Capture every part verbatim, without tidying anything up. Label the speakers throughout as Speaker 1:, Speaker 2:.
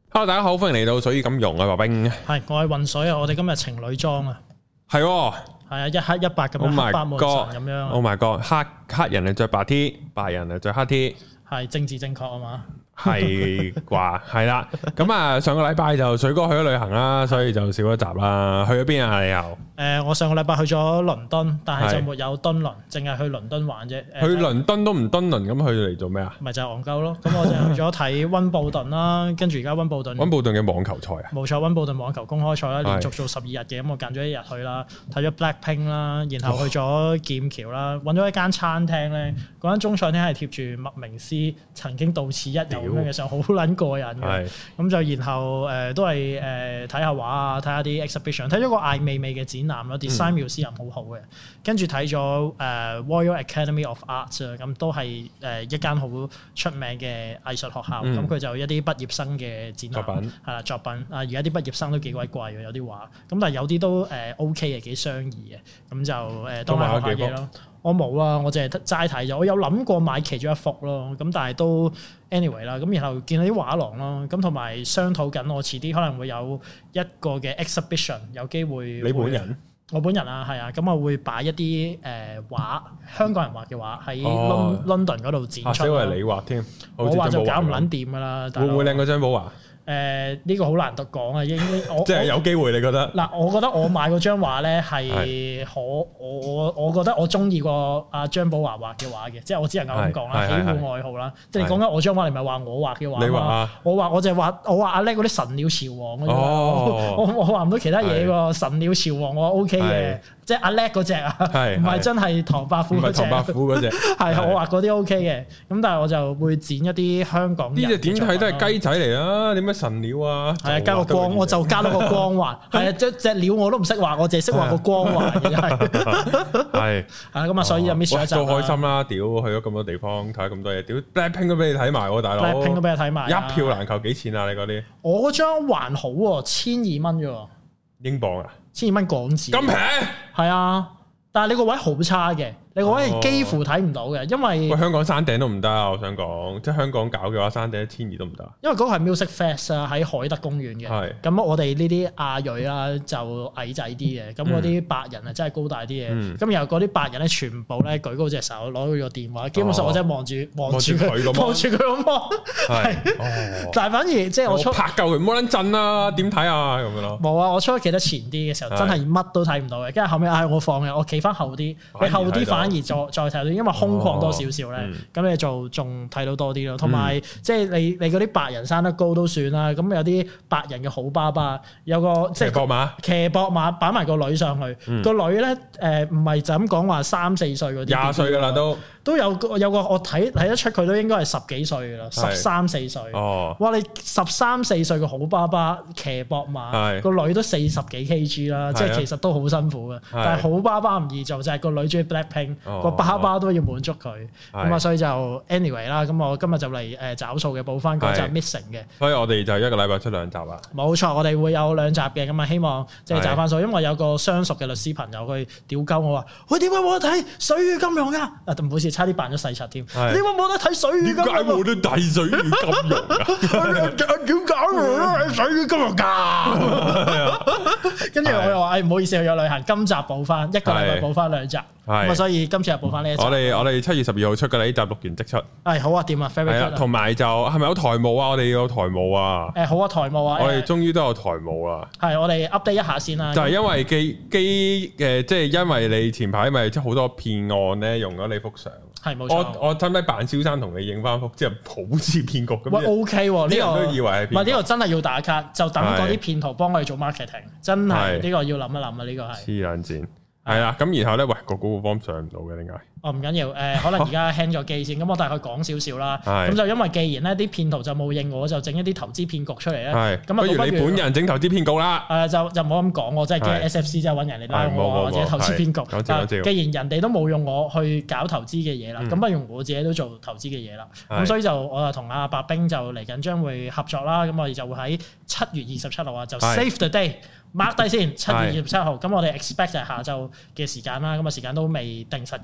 Speaker 1: Hello， 大家好，歡迎嚟到水與金融啊，白兵。
Speaker 2: 係，我係渾水啊，我哋今日情侶裝啊，
Speaker 1: 係，係
Speaker 2: 啊，一黑一白咁樣，黑白無常咁樣。
Speaker 1: Oh my god，黑黑人係着白 T， 白人係着黑 T，
Speaker 2: 係政治正確啊嘛。
Speaker 1: 係啩，係啦。咁啊，上個禮拜就水哥去咗旅行啦，所以就少咗集啦。去咗邊啊？你又？誒、
Speaker 2: 呃，我上個禮拜去咗倫敦，但係就沒有敦倫，淨係去倫敦玩啫。
Speaker 1: 去倫敦都唔敦倫，咁去嚟做咩啊？咪
Speaker 2: 就係戇鳩咯。咁我就去咗睇溫布頓啦，跟住而家溫布頓。溫
Speaker 1: 布頓嘅網球賽啊？冇
Speaker 2: 錯，溫布頓網球公開賽啦，連續做十二日嘅，咁我揀咗一日去啦，睇咗 Blackpink 啦，然後去咗劍橋啦，揾咗一間餐廳咧，嗰間中菜廳係貼住麥明詩曾經到此一遊咁樣嘅相，好撚過癮嘅。咁就然後誒都係誒睇下畫啊，睇下啲 exhibition， 睇咗個艾未未嘅展覽咯 ，design museum 好好嘅。跟住睇咗誒 Royal Academy of Arts 啊，咁都係誒一間好出名嘅藝術學校。咁佢就一啲畢業生嘅展覽係啦，作品啊，而家啲畢業生都幾鬼貴嘅，有啲畫。咁但係有啲都誒 OK 嘅，幾相宜嘅。咁就誒都買下嘢咯。我冇啊，我淨係齋睇咗。我有諗過買其中一幅咯，咁但係都 anyway 啦。咁然後見到啲畫廊咯，咁同埋商討緊，我遲啲可能會有一個嘅 exhibition， 有機會。你本人？我本人啊，係啊，咁我會擺一啲誒畫，香港人畫嘅畫喺 London 嗰度展出。啊，因為你畫添，我畫就搞唔撚掂噶啦。會唔會靚過張寶華？誒呢、呃這個好難得講啊！應該我即係有機會，你覺得？嗱，我覺得我買嗰張畫咧係可我我我覺得我中意過阿張寶華畫嘅畫嘅，即係我只能夠咁講啦，喜好愛好啦。即係你講緊我張畫，你唔係話我畫嘅畫你畫啊？我畫我就係畫我畫阿叻嗰啲神鳥朝王嗰啲，哦、我我畫唔到其他嘢喎。神鳥朝王我 OK 嘅。即係阿叻嗰隻啊，唔係真係唐伯虎嗰隻。唐伯虎嗰隻係我畫嗰啲 OK 嘅，咁但係我就會剪一啲香港人。呢隻點睇都係雞仔嚟啦，點解神鳥啊？係啊，加個光，我就加多個光環。係啊，隻隻鳥我都唔識畫，我淨係識畫個光環嘅係。係啊，咁啊，所以就 miss 咗一集。都開心啦！屌，去咗咁多地方睇咁多嘢，屌 Blackpink 都俾你睇埋喎，大佬。Blackpink 都俾你睇埋，一票難求幾錢啊？你嗰啲？我嗰張還好喎，千二蚊啫喎。英鎊啊？千二蚊港紙咁平？係啊，但係你個位好差嘅，你個位係幾乎睇唔到嘅，因為喂香港山頂都唔得啊！我想講，即係香港搞嘅話，山頂一千二都唔得。因為嗰個係 Music Fest 啊，喺海德公園嘅。係咁是，我哋呢啲亞裔啦就矮仔啲嘅，咁嗰啲白人啊真係高大啲嘅。咁、嗯、然後嗰啲白人咧全部咧舉高隻手，攞佢個電話，基本上我真係望住望住佢，望住佢咁望。係，但係反而即係我出我拍夠佢，唔好撚震啦，點睇啊咁樣咯。冇啊，我出得企得前啲嘅時候，真係乜都睇唔到嘅。跟住後尾唉，我放嘅，我企翻後啲，你後啲反而再再睇到，因為空曠多少少咧，咁、哦、你就仲睇到多啲咯。同埋即係你你嗰啲白人生得高都算啦，咁有啲白人嘅好爸爸，有個即係騎膊馬，騎膊馬擺埋個女上去，嗯、個女咧誒唔係就咁講話三四歲嗰啲，廿歲噶啦都。都有個有個我睇睇得出佢都應該係十幾歲噶啦，十三四歲。哦，哇！你十三四歲嘅好爸爸騎膊馬，個女都四十幾 kg 啦，即係其實都好辛苦嘅。但係好爸爸唔易做，就係個女中意 Blackpink，個爸爸都要滿足佢。咁啊，所以就 anyway 啦。咁我今日就嚟誒找數嘅，補翻嗰集 missing 嘅。所以我哋就一個禮拜出兩集啦。冇錯，我哋會有兩集嘅。咁啊，希望即係找翻數，因為有個相熟嘅律師朋友佢屌鳩我話：喂，點解冇得睇水與金融㗎？啊，唔好意思。差啲扮咗細柒添，點解冇得睇水與金融？點解冇得睇水與金融啊？點解冇水與金融㗎？跟住我又話：誒唔好意思，去咗旅行，今集補翻一個禮拜補翻兩集，咁啊，所以今次又補翻呢一集。我哋我哋七月十二號出嘅呢集錄完即出。係好啊，掂啊 very good。同埋就係咪有台務啊？我哋要有台務啊。誒好啊，台務啊。我哋終於都有台務啦。係，我哋 update 一下先啦。就係因為機機誒，即係因為你前排咪即係好多騙案咧，用咗你幅相。係冇錯，我我使唔使扮蕭生同你影翻幅，即係好似騙局咁？喂 ，OK 喎，呢個都以為係騙。唔係呢個真係要打卡，就等嗰啲騙徒幫我哋做 marketing，真係呢個要諗一諗啊！呢個係黐撚線，係啦。咁然後咧，喂個 Google Form 上唔到嘅點解？哦，唔緊要，誒，可能而家 hang 咗機先，咁我大概講少少啦。咁就因為既然咧啲騙徒就冇應我，就整一啲投資騙局出嚟咧。咁不如你本人整投資騙局啦。誒，就就唔好咁講，我真係驚 S F C 真係揾人嚟拉我或者投資騙局。既然人哋都冇用我去搞投資嘅嘢啦，咁不如我自己都做投資嘅嘢啦。咁所以就我就同阿白兵就嚟緊將會合作啦。咁我哋就會喺七月二十七號啊，就 save the day。mark 低先，七月二十七號，咁我哋 expect 就係下晝嘅時間啦，咁啊時間都未定實嘅，咁啊總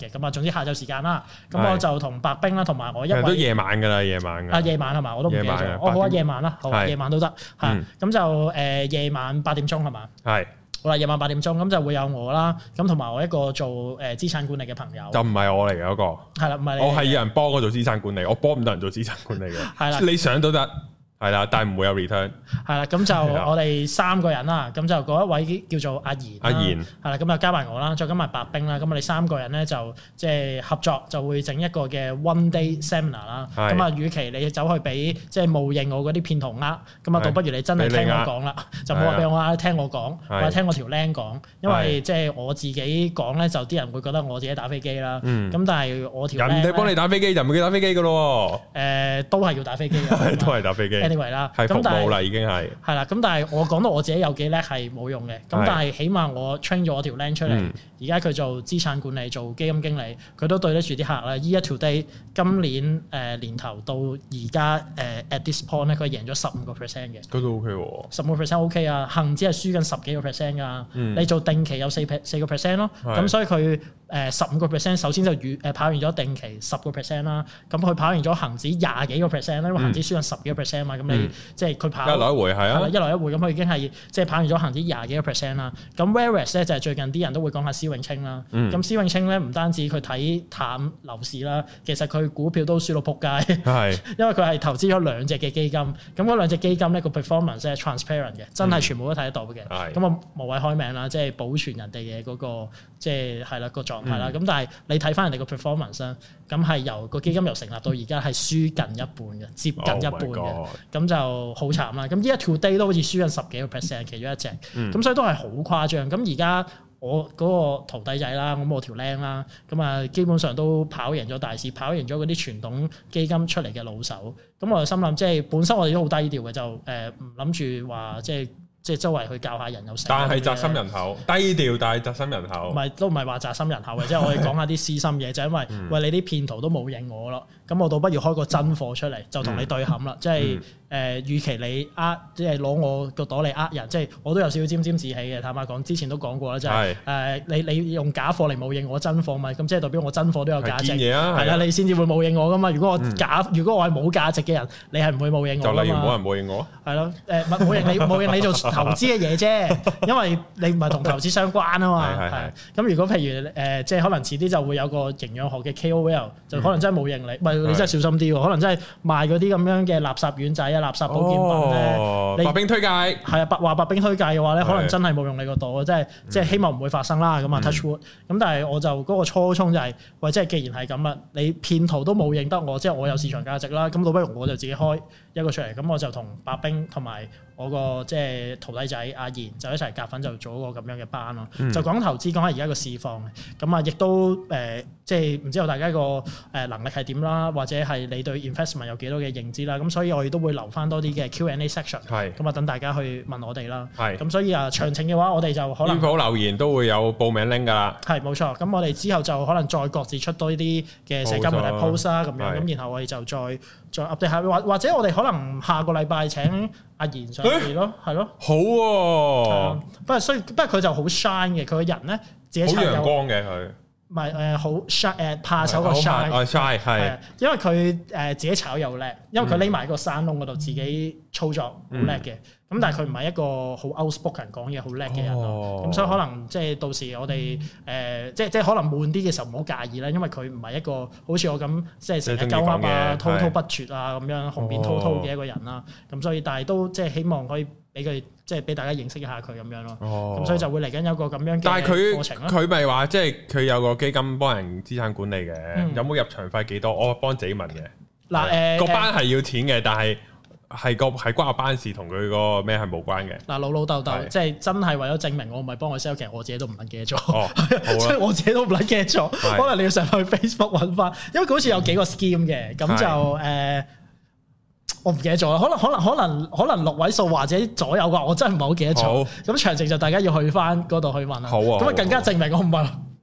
Speaker 2: 之下晝時間啦。咁我就同白兵啦，同埋我一位
Speaker 1: 都夜晚㗎啦，夜晚
Speaker 2: 啊夜晚係嘛？我都唔記得咗。我好啊，夜晚啦，好啊，夜晚都得嚇。咁就誒夜晚八點鐘係嘛？係。好啦，夜晚八點鐘咁就會有我啦，咁同埋我一個做誒資產管理嘅朋友。就唔係我嚟嘅嗰個。係啦，唔係你。我係有人幫我做資產管理，我幫唔到人做資產管理嘅。係啦，你想都得。係啦，但係唔會有 return。係啦，咁就我哋三個人啦，咁就嗰一位叫做阿賢。阿賢。係啦，咁就加埋我啦，再加埋白兵啦，咁我哋三個人咧就即係合作，就會整一個嘅 one day seminar 啦。咁啊，與其你走去俾即係冒認我嗰啲騙徒呃，咁啊，倒不如你真係聽我講啦，就冇話俾我呃，聽我講，或者聽我條僆講，因為即係我自己講咧，就啲人會覺得我自己打飛機啦。咁但係我條人哋幫你打飛機就唔會打飛機噶咯。誒，都係要打飛機嘅，都係打飛機。anyway 啦，係服務啦，已經係係啦。咁但係我講到我自己有幾叻係冇用嘅。咁但係起碼我 train 咗我條僆出嚟，而家佢做資產管理、做基金經理，佢都對得住啲客啦。Year to date 今年誒年頭到而家誒 at this point 咧，佢贏咗十五個 percent 嘅。嗰度 OK 喎，十五個 percent OK 啊，恆指係輸緊十幾個 percent 㗎。你做定期有四四個 percent 咯，咁所以佢誒十五個 percent 首先就預誒跑完咗定期十個 percent 啦。咁佢跑完咗恆指廿幾個 percent 咧，因為恆指輸緊十幾個 percent 嘛，咁你。即係佢跑一來一回係啊，一來一回咁佢已經係即係跑完咗恆指廿幾個 percent 啦。咁 whereas 咧就係最近啲人都會講下施永青啦。咁施永青咧唔單止佢睇淡樓市啦，其實佢股票都輸到撲街。係，因為佢係投資咗兩隻嘅基金，咁嗰兩隻基金咧個 performance 係 transparent 嘅，真係全部都睇得到嘅。係。咁我無謂開名啦，即係保存人哋嘅嗰個即係係啦個狀態啦。咁但係你睇翻人哋個 performance 啦，咁係由個基金由成立到而家係輸近一半嘅，接近一半嘅。咁就好慘啦！咁依家 today 都好似輸緊十幾個 percent，其中一隻，咁、嗯、所以都係好誇張。咁而家我嗰個徒弟仔啦，咁我條僆啦，咁啊基本上都跑贏咗大市，跑贏咗嗰啲傳統基金出嚟嘅老手。咁我就心諗，即係本身我哋都好低調嘅，就誒唔諗住話即係。即係周圍去教下人有成，但係宅心仁厚，低調但係宅心仁厚。唔係都唔係話宅心仁厚嘅，即係我哋講下啲私心嘢，就因為喂你啲騙徒都冇認我咯，咁我倒不如開個真貨出嚟，就同你對冚啦。即係誒，與其你呃，即係攞我個朵嚟呃人，即係我都有少少沾沾自喜嘅。坦白講，之前都講過啦，即係誒你你用假貨嚟冒認我真貨咪，咁即係代表我真貨都有價值。係啦，你先至會冒認我噶嘛。如果我假，如果我係冇價值嘅人，你係唔會冒認我噶嘛。就例如冇人冒認我。係咯，誒冒認你冒認你做投資嘅嘢啫，因為你唔係同投資相關啊嘛。係係。咁如果譬如誒，即係可能遲啲就會有個營養學嘅 K O L，就可能真係冇認你，唔係你真係小心啲喎。可能真係賣嗰啲咁樣嘅垃圾丸仔啊、垃圾保健品咧。白兵推介係啊，白話白兵推介嘅話咧，可能真係冇用你個度，即係即係希望唔會發生啦。咁啊 touch wood。咁但係我就嗰個初衷就係，喂，即係既然係咁啦，你騙徒都冇認得我，即係我有市場價值啦。咁倒不如我就自己開一個出嚟，咁我就同白兵同埋我個即係徒弟仔阿賢就一齊夾份就做一個咁樣嘅班咯。嗯、就講投資，講下而家個市況嘅。咁啊，亦都誒、呃，即係唔知道大家個誒能力係點啦，或者係你對 investment 有幾多嘅認知啦。咁所以我哋都會留翻多啲嘅 Q and A section。係。咁啊，等大家去問我哋啦。係。咁所以啊，詳情嘅話，我哋就可能。邊鋪留言都會有報名 link 㗎啦。係，冇錯。咁我哋之後就可能再各自出多啲嘅社交媒體 post 啦，咁樣。咁然後我哋就再再 update 下，或或者我哋可能下個禮拜請阿賢上嚟咯，係咯。好喎。不過雖不過佢就好 shine 嘅，佢個人咧自己好陽光嘅佢。唔係誒，好 shy 誒，怕醜個 shy。哦 shy 係。因為佢誒自己炒又叻，因為佢匿埋個山窿嗰度自己操作好叻嘅。咁但係佢唔係一個好 outspoken 講嘢好叻嘅人咯。咁所以可能即係到時我哋誒即係即係可能悶啲嘅時候唔好介意啦，因為佢唔係一個好似我咁即係成日鳩噏啊、滔滔不絕啊咁樣雄辯滔滔嘅一個人啦。咁所以但係都即係希望可以俾佢即係俾大家認識一下佢咁樣咯。咁所以就會嚟緊有個咁樣嘅課程咯。佢咪話即係佢有個基金幫人資產管理嘅，有冇入場費幾多？我幫自己問嘅。嗱誒個班係要錢嘅，但係。係個係關我班事，同佢個咩係冇關嘅。嗱老老豆豆，即係真係為咗證明我唔係幫佢 sell，其實我自己都唔撚記得咗。即係我自己都唔撚記得咗。可能你要上去 Facebook 揾翻，因為佢好似有幾個 scheme 嘅，咁就誒，我唔記得咗。可能可能可能可能六位數或者左右啩，我真係唔係好記得咗。咁詳情就大家要去翻嗰度去問啦。好啊。咁啊更加證明我唔係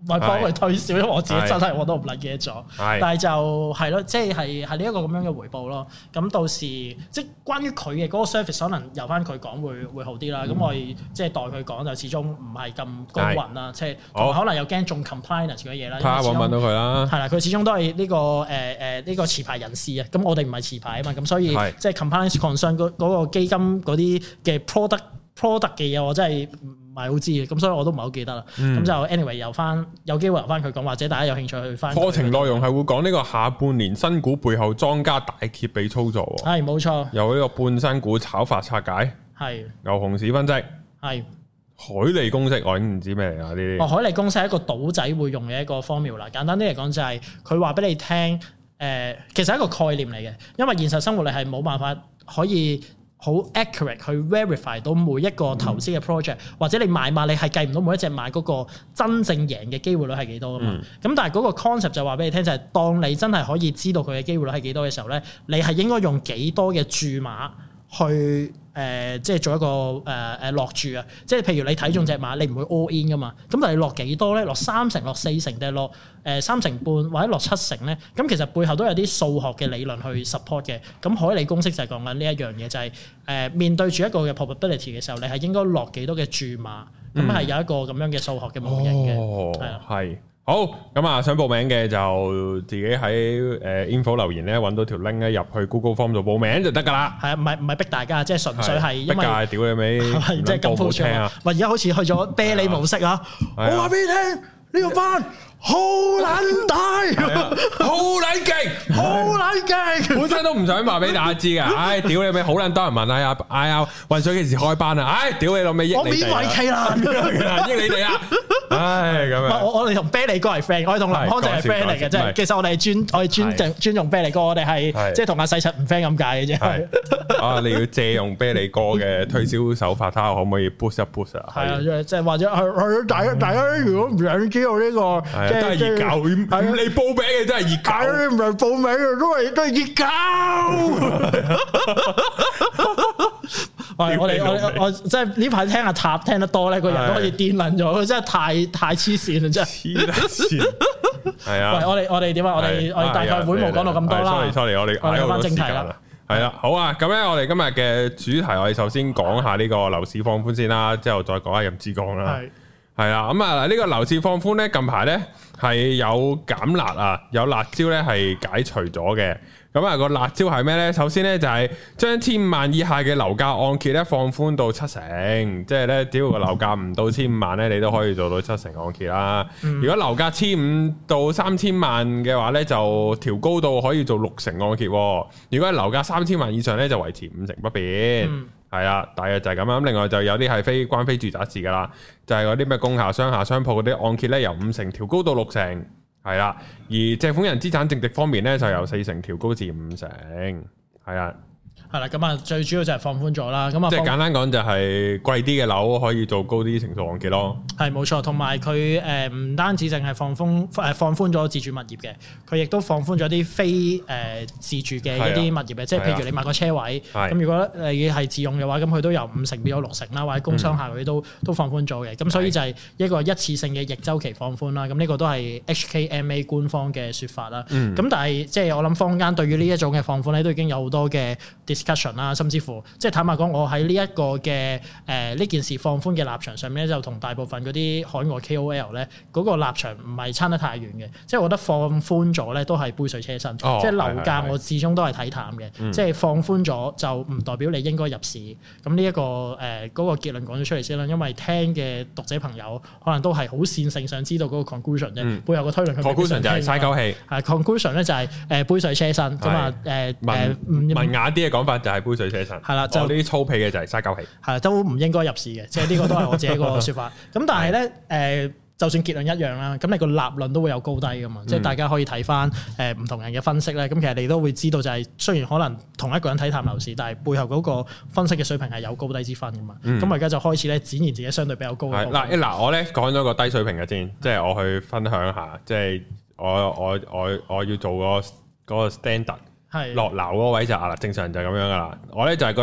Speaker 2: 唔係幫佢推銷，因為我自己真係我都唔撚記得咗。但係就係咯，即係係係呢一個咁樣嘅回報咯。咁到時即係關於佢嘅嗰個 service，可能由翻佢講會會好啲啦。咁、嗯、我哋即係代佢講就始終唔係咁公允啦，即係可能又驚中 compliance 嗰啲嘢啦。睇下我問到佢啦。係啦，佢始終都係呢、呢個誒誒呢個持牌人士啊。咁我哋唔係持牌啊嘛，咁所以即係 compliance concern 嗰嗰個基金嗰啲嘅 product product 嘅嘢，我真係唔係好知嘅，咁所以我都唔係好記得啦。咁、嗯、就 anyway 由翻有機會由翻佢講，或者大家有興趣去翻課程內容係會講呢個下半年新股背後莊家大揭秘操作。係冇錯，由呢個半新股炒法拆解，係牛熊市分析，係海利公式，我已經唔知咩嚟啊呢啲。哦，海利公式係一個賭仔會用嘅一個 formula，簡單啲嚟講就係佢話俾你聽，誒、呃，其實係一個概念嚟嘅，因為現實生活你係冇辦法可以好 accurate 去 verify 到每一個投資嘅 project，、嗯、或者你買馬你係計唔到每一隻買嗰個真正贏嘅機會率係幾多㗎嘛？咁、嗯、但係嗰個 concept 就話俾你聽，就係、是、當你真係可以知道佢嘅機會率係幾多嘅時候咧，你係應該用幾多嘅注碼去。誒、呃，即係做一個誒誒落注啊！即係譬如你睇中隻馬，你唔會 all in 噶嘛。咁但係你落幾多咧？落三成、落四成定係落誒三成半或者落七成咧？咁其實背後都有啲數學嘅理論去 support 嘅。咁海利公式就係講緊呢一樣嘢，就係、是、誒、呃、面對住一個嘅 probability 嘅時候，你係應該落幾多嘅注碼？咁係、嗯、有一個咁樣嘅數學嘅模型嘅，係啊、哦，係。好，咁啊，想報名嘅就自己喺誒 info 留言咧，揾到條 link 咧，入去 Google Form 度報名就得噶啦。係啊，唔係唔係逼大家，即係純粹係因為逼大屌你尾，即係咁鋪張啊！喂，而家好似去咗啤梨模式啊！我話俾你聽，呢個班好撚大，好撚勁，好撚勁。本身都唔想話俾大家知噶，唉，屌你尾，好撚多人問啊，哎呀，運水幾時開班啊？唉，屌你老味，益你哋，我勉為其難，益你哋啊！唉，咁樣。我我哋同啤梨哥係 friend，我哋同林康就係 friend 嚟嘅，即係其實我哋係尊我哋尊敬尊重啤梨哥，我哋係即係同阿細柒唔 friend 咁解嘅啫。啊，你要借用啤梨哥嘅推銷手法，睇下可唔可以 boost 一 boost 啊？係啊，即係或者係係大家大家如果唔想知道呢個，即係熱狗，唔你報名嘅真係熱狗，唔係報名嘅都係都係熱狗。我我哋我我即係呢排聽阿塔聽得多咧，個人都可以癲撚咗，佢真係太太黐線啦，真係黐線。係啊，喂，我哋我哋點啊？我哋我哋大概會冇講到咁多啦。sorry sorry，我哋我哋講翻正題啦。係啦，好啊，咁咧我哋今日嘅主題，我哋首先講下呢個樓市放寬先啦，之後再講下任志剛啦。係係啦，咁啊呢個樓市放寬咧，近排咧係有減辣啊，有辣椒咧係解除咗嘅。咁啊個辣椒係咩咧？首先咧就係將千五萬以下嘅樓價按揭咧放寬到七成，即係咧只要個樓價唔到千五萬咧，你都可以做到七成按揭啦。嗯、如果樓價千五到三千萬嘅話咧，就調高到可以做六成按揭。如果係樓價三千萬以上咧，就維持五成不變。係啊、嗯，大約就係咁樣。另外就有啲係非關非住宅事噶啦，就係嗰啲咩工廈、商廈、商鋪嗰啲按揭咧，由五成調高到六成。係啦，而借款人資產淨值方面咧，就由四成調高至五成，係啊。係啦，咁啊最主要就係放寬咗啦，咁啊即係簡單講就係貴啲嘅樓可以做高啲成數按揭咯。係冇錯，同埋佢誒唔單止淨係放寬誒放寬咗自住物業嘅，佢亦都放寬咗啲非誒、呃、自住嘅一啲物業嘅，的即係譬如你買個車位，咁的如果你係自用嘅話，咁佢都由五成變咗六成啦，或者工商廈嗰啲都、嗯、都放寬咗嘅，咁所以就係一個一次性嘅逆周期放寬啦。咁呢個都係 H K M A 官方嘅説法啦。咁、嗯、但係即係我諗坊間對於呢一種嘅放寬咧，都已經有好多嘅 discussion 啦，甚至乎即係坦白講，我喺呢一個嘅誒呢件事放寬嘅立場上面咧，就同大部分嗰啲海外 K O L 咧嗰個立場唔係差得太遠嘅。即係我覺得放寬咗咧都係杯水車薪，哦、即係樓價我始終都係睇淡嘅。嗯、即係放寬咗就唔代表你應該入市。咁呢一個誒嗰、呃嗰個結論講咗出嚟先啦，因為聽嘅讀者朋友可能都係好線性想知道嗰個 conclusion 啫，嗯、背後個推論。conclusion 就係嘥鳩氣。係 conclusion 咧就係誒杯水車薪咁啊誒誒文雅啲嘅講法就係杯水車薪。係啦，就呢啲粗鄙嘅就係嘥鳩氣。係都唔應該入市嘅，即係呢個都係我自己個説法。咁但係咧誒，就算結論一樣啦，咁你個立論都會有高低噶嘛。嗯、即係大家可以睇翻誒唔同人嘅分析咧。咁其實你都會知道就係雖然可能同一個人睇淡樓市，但係背後嗰個分析嘅水平係有高低之分噶嘛。咁、嗯、我而家就開始咧展現自己相對比較高嘅。嗱嗱，我咧講咗個低水平嘅先，即係我去分享下，即係我我我我要做個嗰個 standard。係落樓嗰位就啊啦，正常人就係咁樣噶啦。我咧就係覺得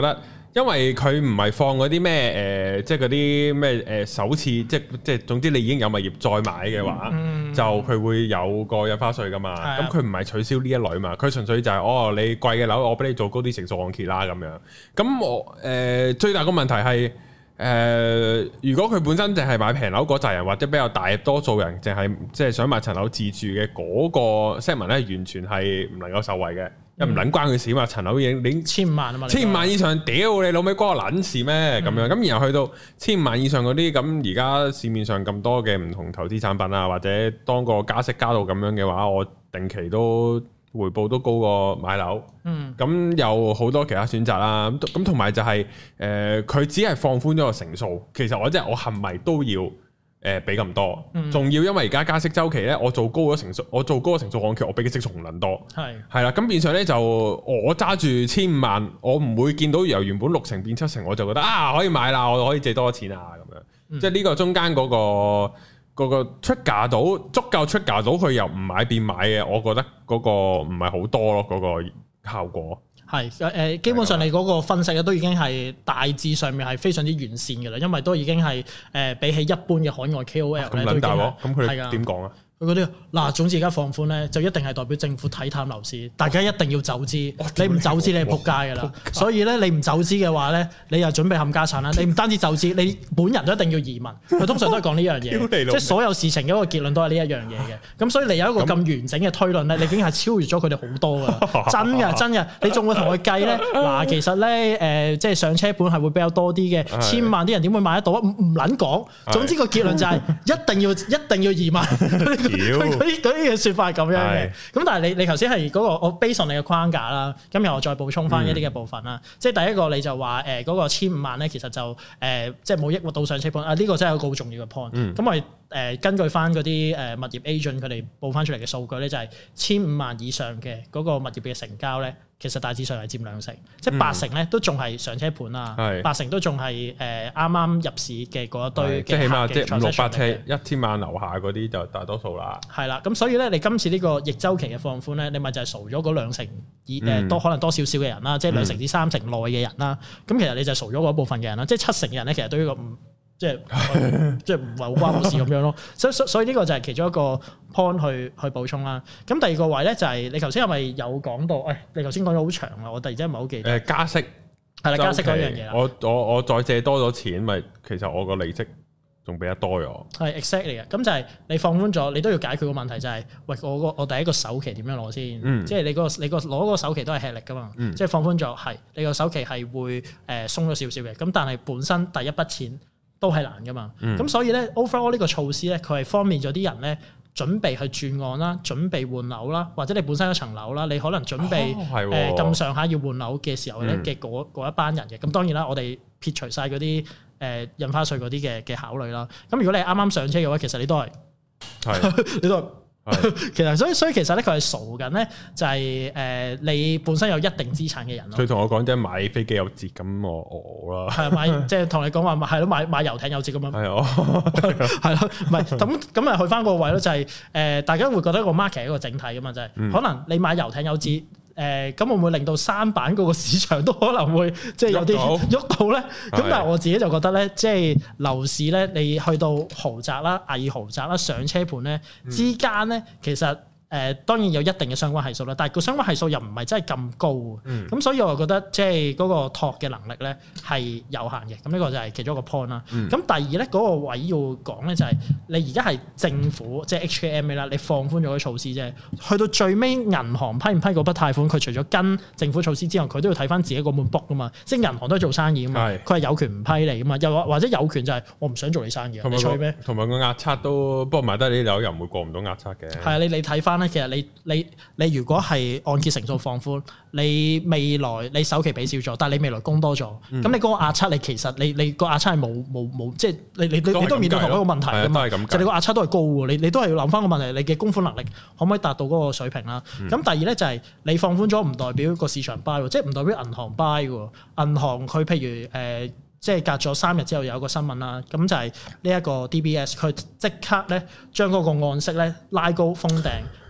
Speaker 1: 因為佢唔係放嗰啲咩誒，即係嗰啲咩誒首次，即係即係總之你已經有物業再買嘅話，嗯、就佢會有個印花稅噶嘛。咁佢唔係取消呢一類嘛，佢純粹就係、是、哦，你貴嘅樓我俾你做高啲成數按揭啦咁樣。咁我誒、呃、最大個問題係誒、呃，如果佢本身淨係買平樓嗰扎人，或者比較大多數人淨係即係想買層樓自住嘅嗰個 segment 咧，完全係唔能夠受惠嘅。又唔撚關佢事嘛？層樓已經你
Speaker 2: 千五萬啊嘛，
Speaker 1: 千五萬以上，屌你老味關我撚事咩？咁、嗯、樣咁，然後去到千五萬以上嗰啲，咁而家市面上咁多嘅唔同投資產品啊，或者當個加息加到咁樣嘅話，我定期都回報都高過買樓。嗯，咁有好多其他選擇啦。咁同埋就係、是、誒，佢、呃、只係放寬咗個成數。其實我即係我係咪都要？誒俾咁多，仲、嗯、要因為而家加息週期咧，我做高咗成數，我做高咗成數按揭，我俾嘅息仲撚多，係係啦，咁變相咧就我揸住千五萬，我唔會見到由原本六成變七成，我就覺得啊可以買啦，我可以借多錢啊咁樣，嗯、即係呢個中間嗰、嗰個嗰個 trigger 到足夠 trigger 到佢由唔買變買嘅，我覺得嗰個唔係好多咯，嗰、嗰個效果。係誒，基本上你嗰個分析咧都已經係大致上面係非常之完善嘅啦，因為都已經係誒、呃、比起一般嘅海外 K O L 咧都已經係咁佢點講啊？佢嗰啲嗱，總之而家放寬咧，就一定係代表政府睇淡樓市，大家一定要走資。你唔走資，你係仆街噶啦。所以咧，你唔走資嘅話咧，你又準備冚家產啦。你唔單止走資，你本人都一定要移民。佢通常都係講呢樣嘢，即係所有事情嘅一個結論都係呢一樣嘢嘅。咁所以你有一個咁完整嘅推論咧，你已經係超越咗佢哋好多噶啦。真嘅，真嘅，你仲會同佢計咧？嗱，其實咧誒，即係上車盤係會比較多啲嘅，千萬啲人點會買得到啊？唔唔撚講。總之個結論就係一定要一定要移民。佢嗰啲嗰啲嘅説法係咁樣嘅，咁但係你你頭先係嗰個我 base on 你嘅框架啦，咁然後我再補充翻一啲嘅部分啦，嗯、即係第一個你就話誒嗰個千五萬咧，其實就誒、呃、即係冇抑鬱到上車盤啊，呢、這個真係一個好重要嘅 point。咁、嗯、我哋誒、呃、根據翻嗰啲誒物業 agent 佢哋報翻出嚟嘅數據咧，就係千五萬以上嘅嗰個物業嘅成交咧。其實大致上係佔兩成，即係八成咧都仲係上車盤啊，嗯、八成都仲係誒啱啱入市嘅嗰一堆嘅，即係起碼即係五六百車一千萬樓下嗰啲就大多數啦。係啦，咁所以咧，你今次呢個逆週期嘅放寬咧，你咪就係掃咗嗰兩成以誒多、嗯、可能多少少嘅人啦，即係兩成至三成內嘅人啦。咁、嗯、其實你就掃咗嗰部分嘅人啦，即係七成嘅人咧，其實對於個唔即係即係唔係好關我事咁樣咯。所以所以呢個就係其中一個 point 去去補充啦。咁第二個位咧就係、是、你頭先係咪有講到？誒、哎，你頭先講咗好長啊，我突然之間唔係好記得。誒加息係啦，加息嗰樣嘢啦。我我我再借多咗錢，咪其實我個利息仲俾得多咗。係 exactly 嘅。咁就係你放寬咗，你都要解決個問題就係、是，喂，我個我第一個首期點樣攞先？嗯、即係你個你個攞個首期都係吃力噶嘛。嗯、即係放寬咗，係你個首期係會誒鬆咗少少嘅。咁但係本身第一筆錢都係難噶嘛，咁、嗯、所以咧 overall 呢個措施咧，佢係方便咗啲人咧準備去轉按啦，準備換樓啦，或者你本身一層樓啦，你可能準備誒咁上下要換樓嘅時候咧嘅嗰一班人嘅，咁、嗯、當然啦，我哋撇除晒嗰啲誒印花稅嗰啲嘅嘅考慮啦，咁如果你係啱啱上車嘅話，其實你都係，是你都係。其實所以所以其實咧佢係傻緊咧，就係誒你本身有一定資產嘅人咯。佢同我講即係買飛機有折咁我我啦。係買即係同你講話係咯買買遊艇有折咁樣。係啊，係咯，唔係咁咁咪去翻個位咯，就係誒大家會覺得個 market 係一個整體噶嘛，就係可能你買遊艇有折。誒咁會唔會令到三板嗰個市場都可能會即係有啲喐到咧？咁但係我自己就覺得咧，即係樓市咧，你去到豪宅啦、偽豪宅啦、上車盤咧之間咧，其實。誒、呃、當然有一定嘅相關係數啦，但係個相關係數又唔係真係咁高，咁、嗯、所以我覺得即係嗰個托嘅能力咧係有限嘅，咁呢個就係其中一個 point 啦。咁、嗯、第二咧嗰、那個位要講咧就係你而家係政府即係 H K M A 啦，你放寬咗啲措施啫，去到最尾銀行批唔批嗰筆貸款，佢除咗跟政府措施之外，佢都要睇翻自己個本 book 噶嘛，即係銀行都係做生意噶嘛，佢係是有權唔批你噶嘛，又或者有權就係我唔想做你生意，你吹咩？同埋個壓測都，不過買得你啲樓又唔會過唔到壓測嘅。係啊，你你睇翻。其實你你你如果係按揭成數放寬，你未來你首期俾少咗，但係你未來供多咗，咁、嗯、你嗰個壓測你其實你你個壓測係冇冇冇，即係你你你都面對同一個問題㗎嘛，就你個壓測都係高喎，你你都係要諗翻個問題，你嘅供款能力可唔可以達到嗰個水平啦？咁、嗯、第二咧就係你放寬咗唔代表個市場 buy 喎，即係唔代表銀行 buy 喎，銀行佢譬如誒。呃即係隔咗三日之後有一個新聞啦，咁就係呢一個 D B S 佢即刻咧將嗰個按息咧拉高封頂，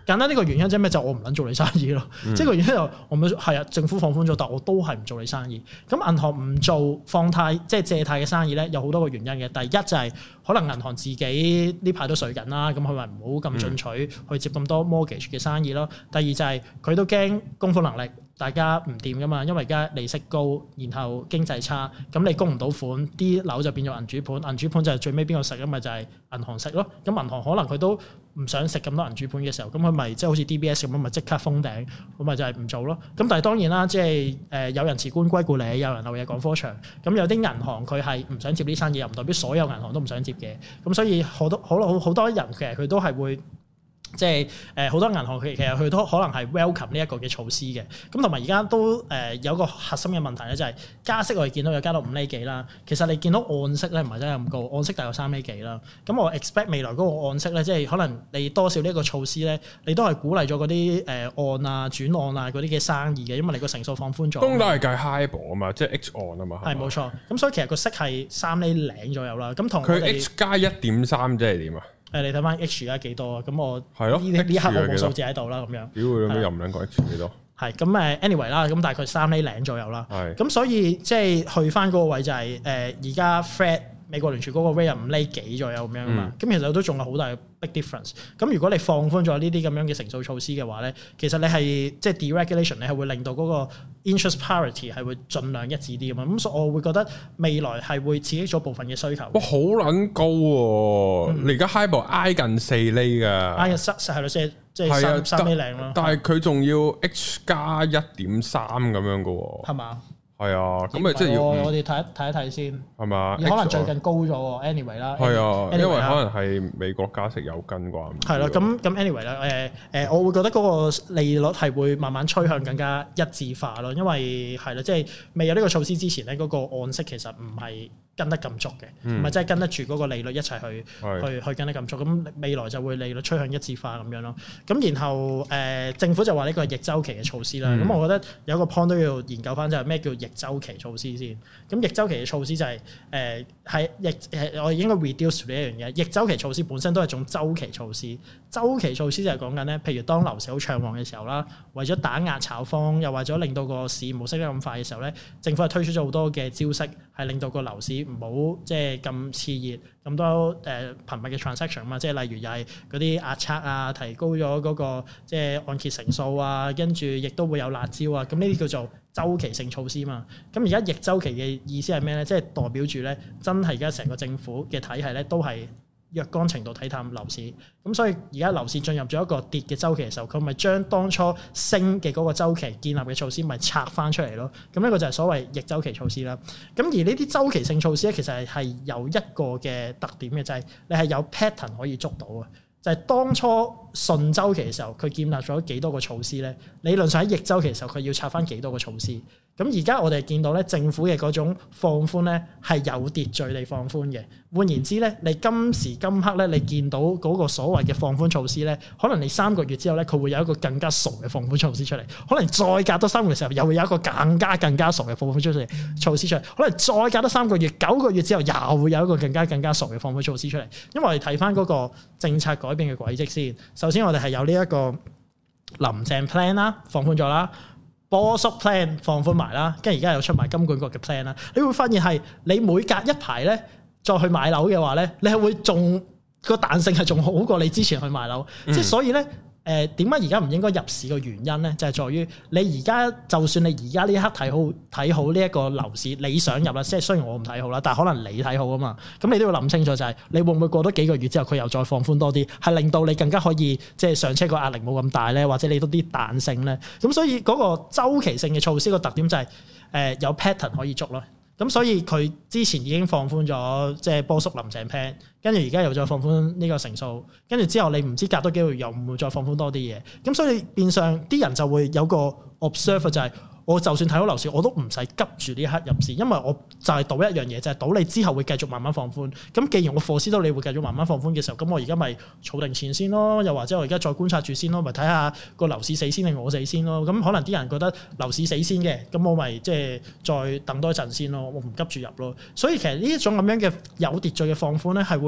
Speaker 2: 簡單呢個原因即係咩？就我唔撚做你生意咯。嗯、即係個原因就我唔係啊，政府放寬咗，但我都係唔做你生意。咁銀行唔做放貸即係借貸嘅生意咧，有好多個原因嘅。第一就係可能銀行自己呢排都水緊啦，咁佢咪唔好咁進取去接咁多 mortgage 嘅生意咯。第二就係佢都驚供款能力。大家唔掂噶嘛，因為而家利息高，然後經濟差，咁你供唔到款，啲樓就變咗銀主盤，銀主盤就係最尾邊個食啊？咪就係銀行食咯。咁銀行可能佢都唔想食咁多銀主盤嘅時候，咁佢咪即係好似 D B S 咁樣，咪即刻封頂，咁咪就係唔做咯。咁但係當然啦，即係誒有人辭官歸故里，有人漏夜趕科場。咁有啲銀行佢係唔想接呢生意，又唔代表所有銀行都唔想接嘅。咁所以好多好多好多人其實佢都係會。即係誒好多銀行佢其實佢都可能係 welcome 呢一個嘅措施嘅，咁同埋而家都誒、呃、有個核心嘅問題咧，就係加息我哋見到有加到五厘幾啦，其實你見到按息咧唔係真係咁高，按息大概三厘幾啦。咁我 expect 未來嗰個按息咧，即係可能你多少呢一個措施咧，你都係鼓勵咗嗰啲誒按啊轉按啊嗰啲嘅生意嘅，因為你個成數放寬咗。都係計 HIBOR 啊嘛，即係 H 按啊嘛。係冇錯，咁所以其實個息係三厘零左右啦。咁同佢 H 加一點三即係點啊？誒，你睇翻 H 而家幾多啊？咁我係咯，呢呢刻我冇數字喺度啦，咁樣。屌佢咁樣又唔撚講 H 幾多？係咁誒，anyway 啦，咁大概三厘零左右啦。係。咁所以即係去翻嗰個位就係誒，而家 Fed 美國聯儲嗰個 rate 五厘幾左右咁樣啊嘛。咁、嗯、其實都仲有好大嘅 big difference。咁如果你放寬咗呢啲咁樣嘅乘數措施嘅話咧，其實你係即係 deregulation，你係會令到嗰個 interest parity 係會盡量一致啲咁嘛。咁所以我會覺得未來係會刺激咗部分嘅需求。哇，好撚高喎、啊！嗯、你而家 HIBOR 挨近四厘㗎，挨近三係咯，即係即係三三厘零咯。但係佢仲要 H 加一點三咁樣㗎喎。係嘛？係啊，咁咪即係要我哋睇一睇一睇先，係嘛？可能最近高咗喎 anyway 啦。係啊，因為可能係美國加息有跟啩。係咯，咁咁 anyway 啦，誒誒，我會覺得嗰個利率係會慢慢趨向更加一致化咯，因為係啦，即係未有呢個措施之前咧，嗰個按息其實唔係跟得咁足嘅，唔係真係跟得住嗰個利率一齊去去去跟得咁足。咁未來就會利率趨向一致化咁樣咯。咁然後誒政府就話呢個係逆週期嘅措施啦。咁我覺得有個 point 都要研究翻，就係咩叫逆週期措施先。咁逆週期嘅措施就係誒係逆誒我哋應該 reduce 呢一樣嘢。逆週期措施本身都係一種週期措施。週期措施就係講緊咧，譬如當樓市好暢旺嘅時候啦，為咗打壓炒風，又為咗令到個市冇升得咁快嘅時候咧，政府係推出咗好多嘅招式，係令到個樓市唔好即係咁熾熱，咁多誒頻密嘅 transaction 啊嘛，即係例如又係嗰啲壓測啊，提高咗嗰個即係按揭成數啊，跟住亦都會有辣招啊，咁呢啲叫做週期性措施嘛。咁而家逆週期嘅意思係咩咧？即係代表住咧，真係而家成個政府嘅體系咧都係若干程度睇淡樓市，咁所以而家樓市進入咗一個跌嘅週期嘅時候，佢咪將當初升嘅嗰個週期建立嘅措施咪拆翻出嚟咯。咁呢個就係所謂逆週期措施啦。咁而呢啲週期性措施咧，其實係係有一個嘅特點嘅，就係你係有 pattern 可以捉到嘅。就係當初順週期嘅時候，佢建立咗幾多個措施咧？理論上喺逆週期嘅時候，佢要拆翻幾多個措施？咁而家我哋見到咧，政府嘅嗰種放寬咧係有秩序地放寬嘅。換言之咧，你今時今刻咧，你見到嗰個所謂嘅放寬措施咧，可能你三個月之後咧，佢會有一個更加傻嘅放寬措施出嚟。可能再隔多三個月時候，又會有一個更加更加傻嘅放寬出嚟措施出嚟。可能再隔多三個月、九個月之後，又會有一個更加更加傻嘅放寬措施出嚟。因為我哋睇翻嗰個政策改變嘅軌跡先。首先我哋係有呢一個林鄭 plan 啦，放寬咗啦。波叔 plan 放寬埋啦，跟住而家又出埋金管局嘅 plan 啦，你會發現係你每隔一排咧再去買樓嘅話咧，你係會仲個彈性係仲好過你之前去買樓，即係、嗯、所以咧。誒點解而家唔應該入市嘅原因咧，就係、是、在於你而家就算你而家呢一刻睇好睇好呢一個樓市，你想入啦，即係雖然我唔睇好啦，但係可能你睇好啊嘛，咁你都要諗清楚就係、是、你會唔會過多幾個月之後佢又再放寬多啲，係令到你更加可以即係上車個壓力冇咁大咧，或者你多啲彈性咧，咁所以嗰個週期性嘅措施個特點就係、是、誒、呃、有 pattern 可以捉咯。咁所以佢之前已經放寬咗，即係波叔林鄭 plan，跟住而家又再放寬呢個成數，跟住之後你唔知隔多幾個月又唔會再放寬多啲嘢，咁所以變相啲人就會有個 observe 就係、是。我就算睇好樓市，我都唔使急住呢一刻入市，因為我就係賭一樣嘢，就係、是、賭你之後會繼續慢慢放寬。咁既然我 foresee 到你會繼續慢慢放寬嘅時候，咁我而家咪儲定錢先咯，又或者我而家再觀察住先咯，咪睇下個樓市死先定我死先咯。咁可能啲人覺得樓市死先嘅，咁我咪即係再等多一陣先咯，我唔急住入咯。所以其實呢一種咁樣嘅有秩序嘅放寬咧，係會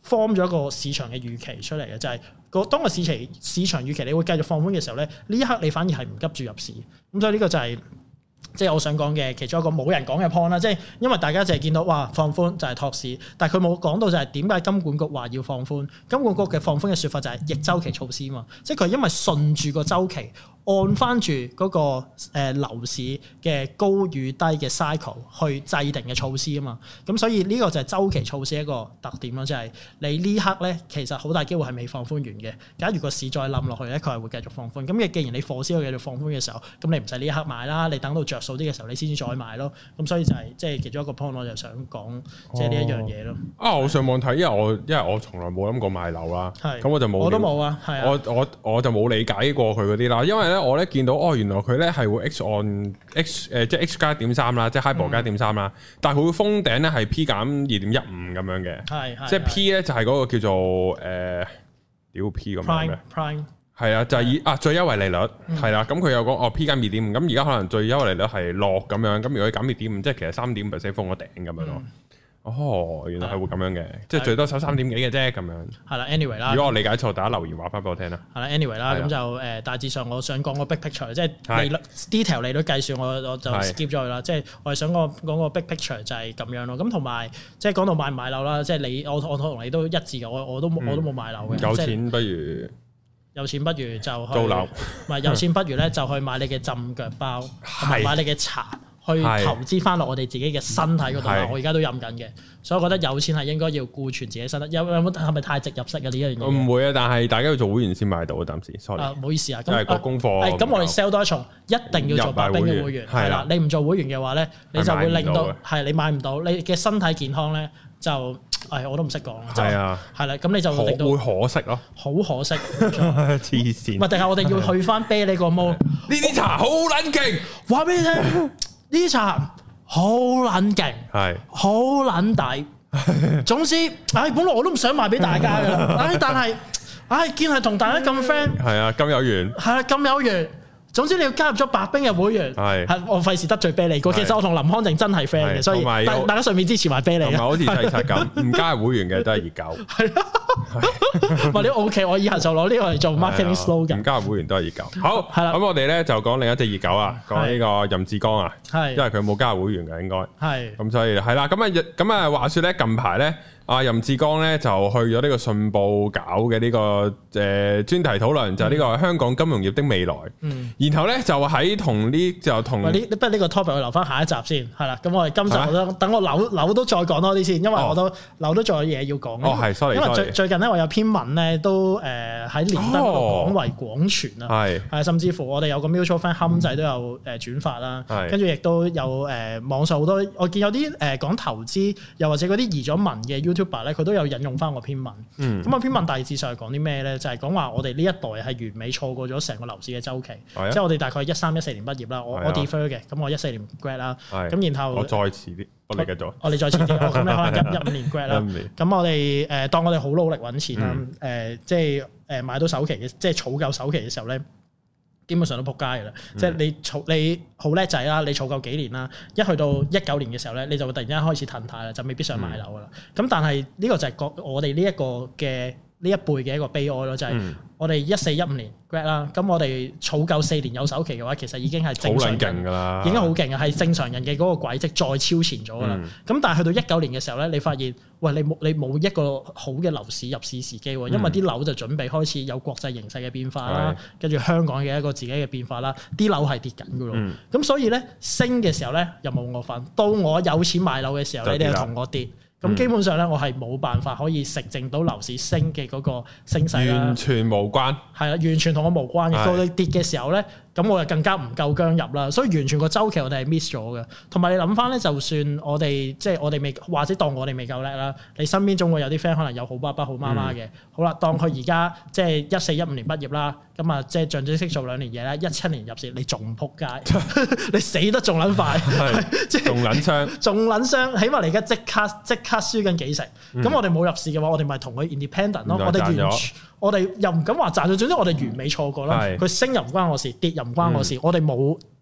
Speaker 2: form 咗一個市場嘅預期出嚟嘅，就係、是、個當個市場市場預期你會繼續放寬嘅時候咧，呢一刻你反而係唔急住入市，咁所以呢個就係、是。即係我想講嘅其中一個冇人講嘅 point 啦，即係因為大家淨係見到哇放寬就係托市，但係佢冇講到就係點解金管局話要放寬？金管局嘅放寬嘅説法就係逆周期措施嘛，即係佢因為順住個周期。按翻住嗰個誒樓市嘅高與低嘅 cycle 去制定嘅措施啊嘛，咁所以呢個就係週期措施一個特點咯，就係、是、你呢刻咧其實好大機會係未放寬完嘅。假如個市再冧落去咧，佢係會繼續放寬。咁嘅既然你貨市繼續放寬嘅時候，咁你唔使呢一刻買啦，你等到着數啲嘅時候你先至再買咯。咁所以就係即係其中一個 point，我就想講即係呢一樣嘢咯。
Speaker 1: 啊，我上網睇，因為我因為我從來冇諗過買樓啦，咁
Speaker 2: 是
Speaker 1: 我就冇，
Speaker 2: 我都冇啊，係啊，
Speaker 1: 我我我就冇理解過佢嗰啲啦，因為咧我咧見到哦。原來佢咧係會 X on X 誒、呃，即係 X 加一點三啦，即係 HIBOR 加一點三啦。但係佢會封頂咧係 P 減二點一五咁樣嘅，係係即係 P 咧就係嗰個叫做誒，屌、呃、P 咁樣嘅 Prime 係啊，就係、是、以啊最優惠利率係啦。咁佢有講哦 P 減二點五，咁而家可能最優惠利率係落咁樣。咁如果減二點五，即係其實三點五 percent 封咗頂咁樣咯。嗯哦，原來係會咁樣嘅，的即係最多收三點幾嘅啫，咁樣。係啦 ，anyway 啦。如果我理解錯，大家留言話翻俾我聽啦。係啦，anyway 啦，咁就誒大致上我想講個 big picture，即係利率 detail 利率計算，我我就 skip 咗佢啦。即係我係想講講個 big picture 就係咁樣咯。咁同埋即係講到買唔買樓啦，即係你我我同你都一致嘅，我我都我都冇買樓嘅。有錢不如有錢不如就去租樓，唔係有錢不如咧就去買你嘅浸腳包，同埋買你嘅茶。去投資翻落我哋自己嘅身體嗰度，我而家都飲緊嘅，所以我覺得有錢係應該要顧全自己身體。有有冇係咪太直入式啊？呢一樣嘢唔會啊，但係大家要做會員先買到啊，暫時。sorry，唔好意思啊，因為個功課。咁我哋 sell 多一重，一定要做白兵嘅會員。係啦，你唔做會員嘅話咧，你就會令到係你買唔到，你嘅身體健康咧就誒我都唔識講。係啊，係啦，咁你就令到會可惜咯，好可惜。黐線。唔係，定係我哋要去翻啤呢個毛？呢啲茶好撚勁，話俾你聽。呢啲茶好撚勁，係好撚抵。總之，唉，本來我都唔想賣俾大家㗎，唉，但係，唉，見係同大家咁 friend，係啊，咁有緣，係啊，咁有緣。總之你要加入咗白兵嘅會員，係係我費事得罪啤梨哥。其實我同林康正真係 friend 嘅，所以大大家順便支持埋啤梨。唔係好似細柒咁，唔加入會員嘅都係熱狗。係啊，或者 OK，我以後就攞呢個嚟做 marketing slogan。唔加入會員都係熱狗。好，係啦。咁我哋咧就講另一隻熱狗啊，講呢個任志剛啊，係因為佢冇加入會員嘅應該。係咁所以係啦，咁啊咁啊話説咧近排咧。阿任志剛咧就去咗呢個信報搞嘅呢、這個誒、呃、專題討論，就係、是、呢個香港金融業的未來。嗯，然後咧就喺同呢就同呢，不過呢個 topic 我留翻下一集先，係啦。咁我哋今集我都、啊、等我扭扭都再講多啲先，因為我都扭、哦、都仲有嘢要講。哦，係，sorry，因為最 sorry 最近咧我有篇文咧都誒喺連登度廣為廣傳啊，係係、哦，甚至乎我哋有個 mutual friend 冚仔都有誒轉發啦，係、嗯，跟住亦都有誒、呃、網上好多，我見有啲誒、呃、講投資，又或者嗰啲移咗民嘅 YouTuber 咧，佢都有引用翻我篇文。嗯，咁啊篇文大致上係講啲咩咧？就係講話我哋呢一代係完美錯過咗成個樓市嘅週期，啊、即係我哋大概一三一四年畢業啦。我、啊、我 defer 嘅，咁我一四年 grad 啦。係，咁然後我再遲啲，我嚟繼續。我哋再遲啲，咁你可能一一五年 grad 啦。咁我哋誒當我哋好努力揾錢啦，誒、嗯呃、即係誒買到首期嘅，即係儲夠首期嘅時候咧。基本上都撲街嘅啦，嗯、即係你儲你好叻仔啦，你儲夠幾年啦，一去到一九年嘅時候咧，你就會突然間開始騰貸啦，就未必想買樓噶啦。咁、嗯、但係呢個就係個我哋呢一個嘅呢一輩嘅一個悲哀咯，就係、是、我哋一四一五年 grad 啦，咁我哋儲夠四年有首期嘅話，其實已經係正常人，已經好勁嘅，係正常人嘅嗰個軌跡再超前咗噶啦。咁、嗯、但係去到一九年嘅時候咧，你發現喂你冇你冇一個好嘅樓市入市時機喎，因為啲樓就準備開始有國際形勢嘅變化啦，跟住、嗯、香港嘅一個自己嘅變化啦，啲樓係跌緊噶咯。咁、嗯、所以咧升嘅時候咧又冇我份，到我有錢買樓嘅時候咧，你又同我跌。咁基本上咧，我係冇辦法可以食正到樓市升嘅嗰個升勢啦，完全無關。係啦，完全同我無關嘅。到你跌嘅時候咧，咁我就更加唔夠薑入啦。所以完全個週期我哋係 miss 咗嘅。同埋你諗翻咧，就算我哋即係我哋未，或者當我哋未夠叻啦，你身邊總會有啲 friend 可能有好爸爸好媽媽嘅。嗯、好啦，當佢而家即係一四一五年畢業啦，咁啊即係象徵式做兩年嘢啦，一七年入市，你仲唔撲街？你死得仲撚快，即係仲撚傷，仲撚傷。起碼你而家即刻即刻輸緊幾成。咁、嗯、我哋冇入市嘅話，我哋咪同佢 independent 咯。我哋完全。我哋又唔敢話賺咗，總之我哋完美錯過啦。佢是升又唔關我事，跌又唔關我事。嗯、我哋冇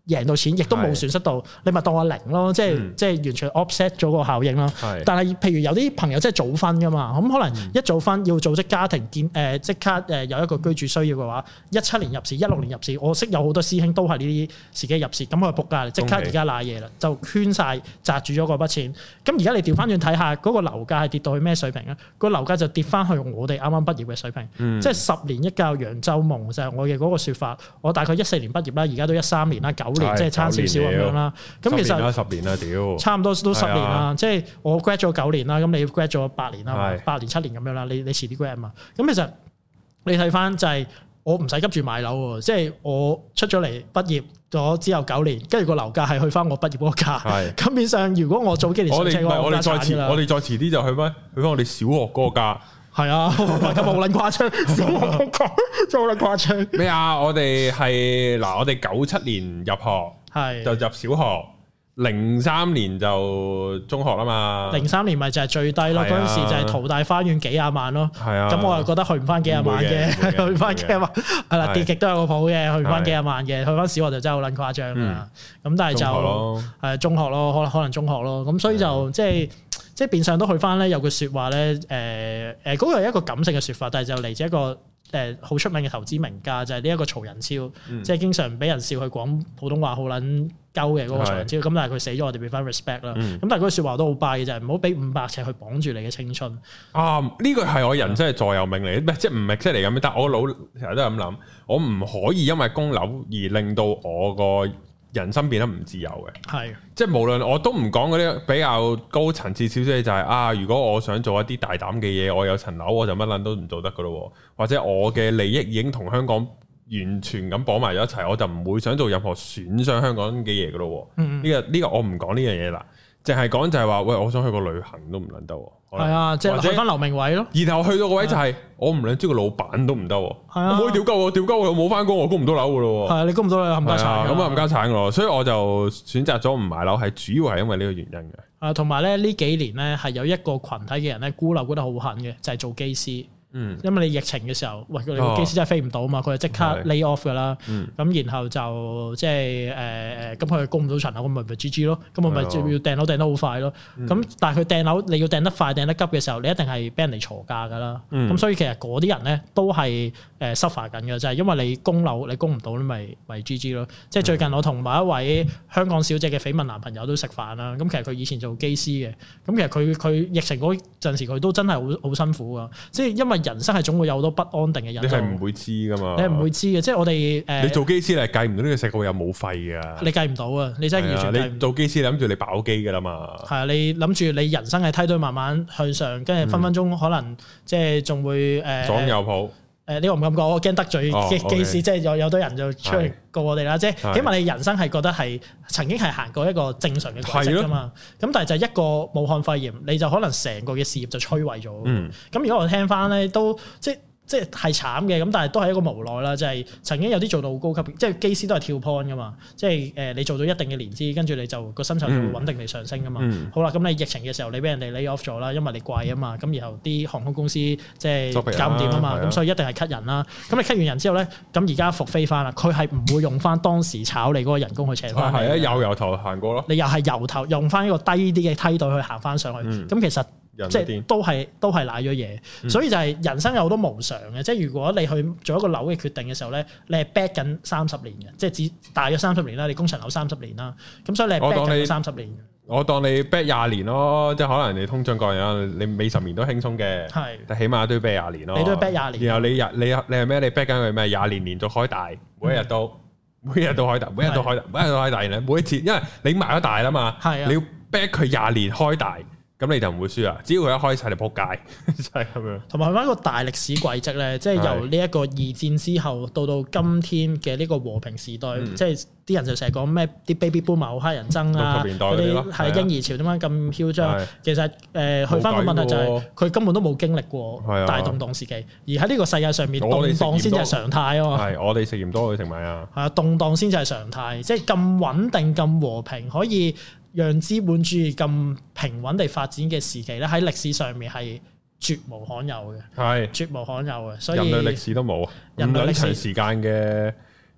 Speaker 2: 贏到錢，亦都冇損失到，你咪當我零咯，即係、嗯、即係完全 offset 咗個效應咯。是但係譬如有啲朋友即係早婚噶嘛，咁可能一早婚要組織家庭建誒即刻誒有一個居住需要嘅話，一七年入市，一六年入市，我識有好多師兄都係呢啲時機入市，咁佢仆街，即刻而家賴嘢啦，就圈晒擲住咗嗰筆錢。咁而家你調翻轉睇下，嗰、嗰個樓價係跌到去咩水平咧？個樓價就跌翻去我哋啱啱畢業嘅水平，嗯、即係十年一覺揚州夢就係、是、我嘅嗰個説法。我大概一四年畢業啦，而家都一三年啦，九年即係差少少咁樣啦。咁其實
Speaker 1: 十年啦，屌，
Speaker 2: 差唔多都十年啦。即係我 grad 咗九年啦，咁你 grad 咗八年啦，八年七年咁樣啦。你你遲啲 grad 嘛？咁其實你睇翻就係我唔使急住買樓喎，即係我出咗嚟畢業咗之後九年，跟住個樓價係去翻我畢業嗰個價。咁變相如果我早幾年上車嘅話，
Speaker 1: 我哋再遲，我哋再遲啲就去翻去翻我哋小學嗰個價。
Speaker 2: 係啊，咁好撚誇張，小學嗰個價真係好撚誇張。
Speaker 1: 咩啊？我哋係嗱，我哋九七年入學，係就入小學。零三年就中學啦嘛，零
Speaker 2: 三年咪就係最低咯，嗰陣、啊、時就係淘大花園幾廿萬咯，咁、啊、我又覺得去唔翻幾廿萬嘅，去唔翻幾廿萬，係啦，跌極都有個譜嘅，去唔翻幾廿萬嘅，去翻小學就真係好撚誇張啦，咁、嗯、但係就係中學咯，可能可能中學咯，咁所以就即係即係變相都去翻咧，有句説話咧，誒誒嗰個係一個感性嘅説法，但係就嚟自一個誒好出名嘅投資名家，就係呢一個曹仁超，嗯、即係經常俾人笑佢講普通話好撚鳩嘅嗰個曹仁超，咁是但係佢死咗，我哋俾翻 respect 啦。咁、嗯、但係嗰句説話都好 buy 嘅，就係唔好俾五百尺去綁住你嘅青春。啊，
Speaker 1: 呢個係我人生嘅座右銘嚟，唔係即係唔係即係嚟咁，但係我腦成日都係咁諗，我唔可以因為供樓而令到我個人生變得唔自由嘅。係的，即係無論我都唔講嗰啲比較高層次少少嘅，就係、是、啊，如果我想做一啲大膽嘅嘢，我有層樓我就乜撚都唔做得噶咯，或者我嘅利益已經同香港完全咁綁埋咗一齊，我就唔會想做任何損傷香港嘅嘢噶咯。呢、嗯這個呢、這個我唔講呢樣嘢啦，淨係講就係話，喂，我想去個旅行都唔撚得。
Speaker 2: 係啊，即係去翻劉明偉咯。
Speaker 1: 然後去到個位就係、是啊、我唔撚知個老闆都唔得。係啊，我可以屌鳩我，屌鳩我又冇翻工，我供唔到樓噶咯。係
Speaker 2: 啊，你供唔到樓冚家產。
Speaker 1: 咁啊冚家產噶咯，所以我就選擇咗唔買樓，係主要係因為呢個原因嘅。
Speaker 2: 啊，同埋咧呢幾年咧係有一個群體嘅人咧孤樓孤得好狠嘅，就係、是、做機師。嗯，因為你疫情嘅時候，喂，佢哋個機師真係飛唔到啊嘛，佢就即刻 lay off 噶啦。咁、嗯、然後就即係誒誒，咁佢供唔到層樓，咁咪咪 G G 咯。咁我咪要訂樓訂得好快咯。咁、嗯、但係佢訂樓，你要訂得快、訂得急嘅時候，你一定係俾人哋鋤價噶啦。咁、嗯、所以其實嗰啲人咧都係誒 suffer 緊嘅，就係因為你供樓你供唔到，你咪咪 G G 咯。即係最近我同某一位香港小姐嘅緋聞男朋友都食飯啦。咁其實佢以前做機師嘅，咁其實佢佢疫情嗰陣時佢都真係好好辛苦噶。即係因為人生係總會有好多不安定嘅因素，你係
Speaker 1: 唔會知噶嘛？
Speaker 2: 你係唔會知嘅，即係我哋誒。
Speaker 1: 你做機師你係計唔到呢個世界會有冇肺噶？
Speaker 2: 你計唔到啊！你真係完全計唔到。
Speaker 1: 你做機師諗住你飽機噶啦嘛？
Speaker 2: 係啊，你諗住你人生係梯隊慢慢向上，跟住分分鐘可能即係仲會誒。左右抱。誒呢個唔敢講，我驚得罪機機師，即係有有多人就出嚟告我哋啦。即係起碼你人生係覺得係曾經係行過一個正常嘅軌跡㗎嘛。咁但係就一個武漢肺炎，你就可能成個嘅事業就摧毀咗。咁如果我聽翻咧，都即係。即係係慘嘅，咁但係都係一個無奈啦。就係、是、曾經有啲做到好高級，即係機師都係跳 point 噶嘛。即係誒，你做到一定嘅年資，跟住你就個薪酬就會穩定地上升噶嘛。嗯、好啦，咁你疫情嘅時候，你俾人哋 lay off 咗啦，因為你貴啊嘛。咁然後啲航空公司即係搞唔掂啊嘛。咁所以一定係 cut 人啦。咁你 cut 完人之後咧，咁而家復飛翻啦。佢係唔會用翻當時炒你嗰個人工去請翻。係啊，又由頭行過咯。你又係由頭用翻一個低啲嘅梯隊去行翻上去。咁、嗯、其實。即係都係都係賴咗嘢，嗯、所以就係人生有好多無常嘅。即係如果你去做一個樓嘅決定嘅時候咧，你係 back 緊三十年嘅，即係只大約三十年啦。你供層樓三十年啦，咁所以你係 back 緊三十年。
Speaker 1: 我當你 back 廿年咯，即係可能你通脹過樣，你尾十年都輕鬆嘅，係是，但起碼都要 back 廿年咯。你都要 back 廿年。然後你日你你係咩？你 back 緊佢咩？廿年連續開大，每一日都、嗯、每一日都開大，每一日都開大，每一日都開大。每一次，因為你賣咗大啦嘛，係啊，你要 back 佢廿年開大。咁你就唔會輸啊！只要佢一開晒，你撲街，就係咁樣。同埋去翻一個大歷史軌跡咧，即係由呢一個二戰之後到到今天嘅呢個和平時代，嗯、即係啲人就成日講咩啲 baby boomer 好乞人憎啊，嗰啲係嬰兒潮點解咁囂張？的其實誒、呃、去翻個問題就係、是、佢根本都冇經歷過大動盪時期，的而喺呢個世界上面動盪先至係常態啊嘛。係我哋食鹽多，佢食米啊。係啊，動盪先至係常態，即係咁穩定、咁和平，可以讓資本主義咁平穩地發展嘅時期咧，喺歷史上面係絕無罕有嘅，係絕無罕有嘅。所以人類歷史都冇咁長時間嘅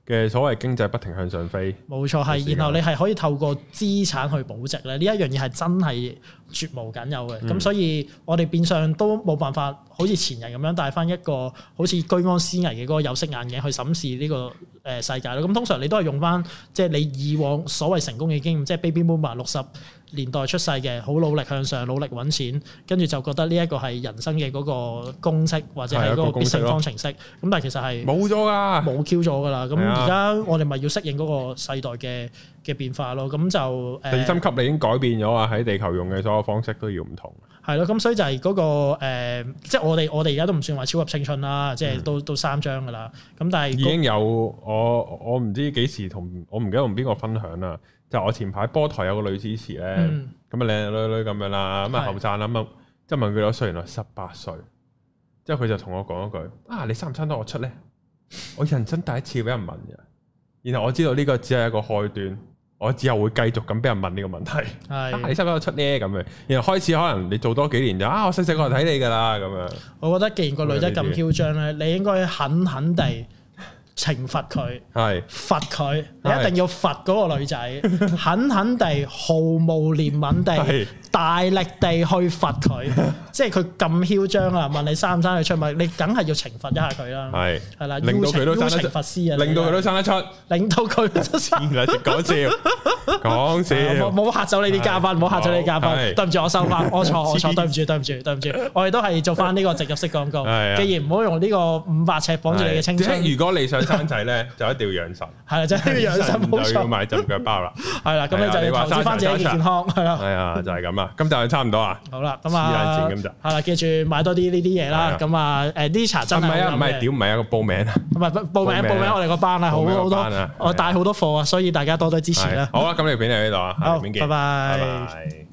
Speaker 1: 嘅所謂經濟不停向上飛。冇
Speaker 2: 錯，係，然後你係可以透過資產去保值咧，呢一樣嘢係真係絕無僅有嘅。咁、嗯、所以我哋變相都冇辦法好似前人咁樣戴翻一個好似居安思危嘅嗰個有色眼鏡去審視呢個誒世界咯。咁通常你都係用翻即係你以往所謂成功嘅經驗，即係 Baby Boomer 六十年代出世嘅，好努力向上，努力揾錢，跟住就覺得呢一個係人生嘅嗰個公式或者係嗰個必勝方程式。咁但係其實係冇咗㗎，冇 Q 咗㗎啦。咁而家我哋咪要適應嗰個世代嘅嘅變化咯。咁就誒地心吸力已經改變咗啊！喺地球用嘅所有方式都要唔同。係咯，咁所以就係嗰、嗰個、呃、即係我哋我哋而家都唔算話超級青春啦，即係都、嗯、都三張㗎啦。咁但係已經有我我唔知幾時同我唔記得同邊個分享啦。就我前排波台有個女主持咧，咁啊靚靚女女咁樣啦，咁啊後生啦，咁啊即係問佢幾多歲，原來十八歲。之後佢就同我講一句：啊，你生唔生得我出咧？我人生第一次俾人問嘅。然後我知道呢個只係一個開端，我之後會繼續咁俾人問呢個問題。係、啊，你生唔生得我出咧？咁樣，然後開始可能你做多幾年就啊，我細細個就睇你㗎啦咁樣。我覺得既然個女仔咁囂張咧，你應該狠狠地懲罰佢，係罰佢，你一定要罰嗰個女仔，狠狠地、毫無憐憫地、大力地去罰佢。即係佢咁囂張啊！問你生唔生佢出，咪你梗係要懲罰一下佢啦。係係啦，令到佢都生得出，令到佢都生得出，令到佢都生得出。講笑，講笑，冇冇嚇走你啲嘉賓，冇嚇走你啲嘉賓。對唔住，我收翻，我錯我錯，對唔住對唔住對唔住，我哋都係做翻呢個植入式廣告。既然唔好用呢個五百尺綁住你嘅青春，如果你想生仔咧，就一定要養神。係啦，就係要養神，冇錯。就要買浸腳包啦。係啦，咁你就要投資翻自己嘅健康。係啦，係啊，就係咁啦。今集就差唔多啊。好啦，咁啊，係啦，記住買多啲呢啲嘢啦。咁啊，誒呢茶真係唔係啊，唔係屌唔係啊，個報名啊。唔係報名報名，我哋個班啊，好好多，我帶好多貨啊，所以大家多多支持啦。好啦，咁呢條片嚟呢度啊，下條片見。拜拜。